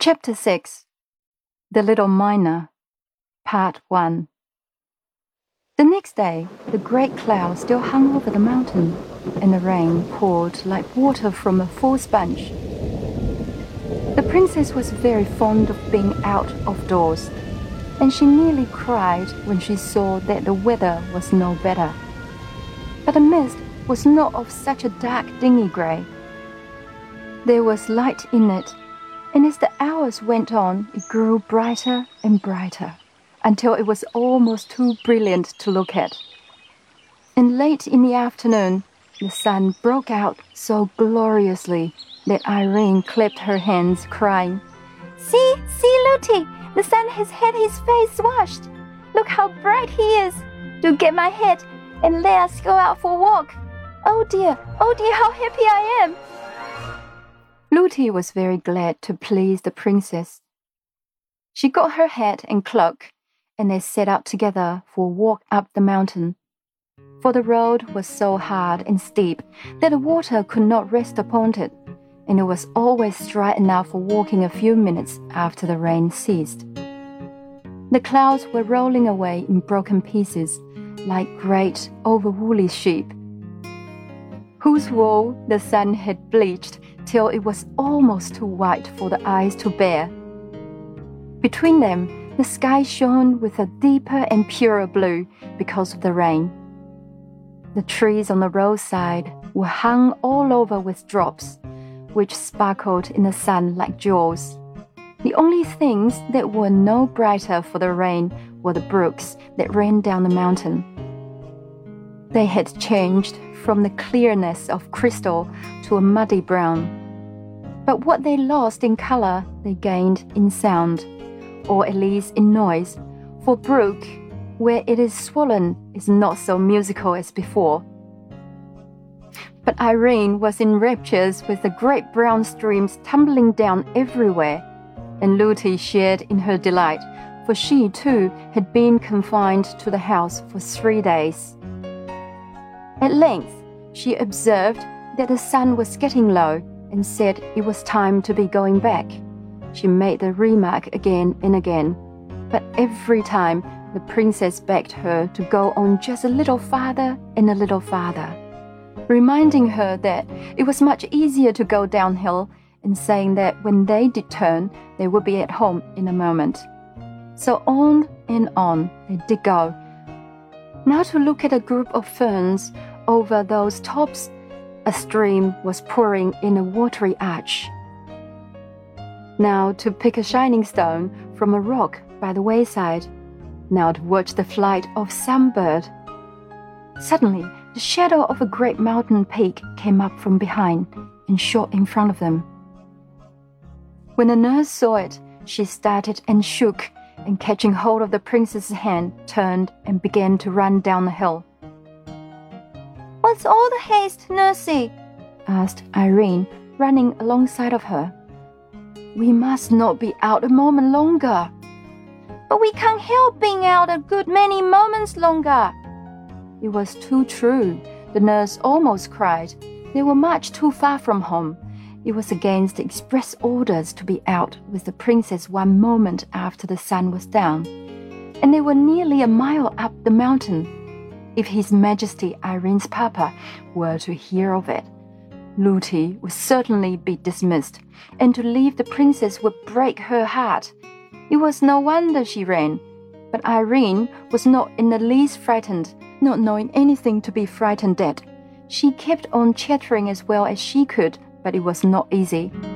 Chapter 6 The Little Miner, Part 1. The next day, the great cloud still hung over the mountain, and the rain poured like water from a full sponge. The princess was very fond of being out of doors, and she nearly cried when she saw that the weather was no better. But the mist was not of such a dark, dingy grey. There was light in it, and as the hours went on, it grew brighter and brighter, until it was almost too brilliant to look at. And late in the afternoon, the sun broke out so gloriously that Irene clapped her hands, crying, "See, Lootie, the sun has had his face washed. Look how bright he is. Do get my hat and let us go out for a walk. Oh dear, how happy I am." Lootie was very glad to please the princess. She got her hat and cloak, and they set out together for a walk up the mountain. For the road was so hard and steep that the water could not rest upon it, and it was always dry enough for walking a few minutes after the rain ceased. The clouds were rolling away in broken pieces, like great over-woolly sheep, whose wool the sun had bleached till it was almost too white for the eyes to bear. Between them, the sky shone with a deeper and purer blue because of the rain. The trees on the roadside were hung all over with drops, which sparkled in the sun like jewels. The only things that were no brighter for the rain were the brooks that ran down the mountain. They had changed from the clearness of crystal to a muddy brown. But what they lost in color, they gained in sound, or at least in noise, for brook, where it is swollen, is not so musical as before. But Irene was in raptures with the great brown streams tumbling down everywhere, and Lootie shared in her delight, for she too had been confined to the house for 3 days. At length, she observed that the sun was getting low and said it was time to be going back. She made the remark again and again, but every time the princess begged her to go on just a little farther and a little farther, reminding her that it was much easier to go downhill and saying that when they did turn, they would be at home in a moment. So on and on they did go. Now to look at a group of ferns over those tops, a stream was pouring in a watery arch. Now to pick a shining stone from a rock by the wayside. Now to watch the flight of some bird. Suddenly, the shadow of a great mountain peak came up from behind and shot in front of them. When the nurse saw it, she started and shook, and catching hold of the princess's hand, turned and began to run down the hill. "What's all the haste, nursie?" asked Irene, running alongside of her. "We must not be out a moment longer." "But we can't help being out a good many moments longer." It was too true. The nurse almost cried. They were much too far from home. It was against the express orders to be out with the princess 1 moment after the sun was down, and they were nearly a mile up the mountain. If His Majesty Irene's papa were to hear of it, Lootie would certainly be dismissed, and to leave the princess would break her heart. It was no wonder she ran, but Irene was not in the least frightened, not knowing anything to be frightened at. She kept on chattering as well as she could, but it was not easy.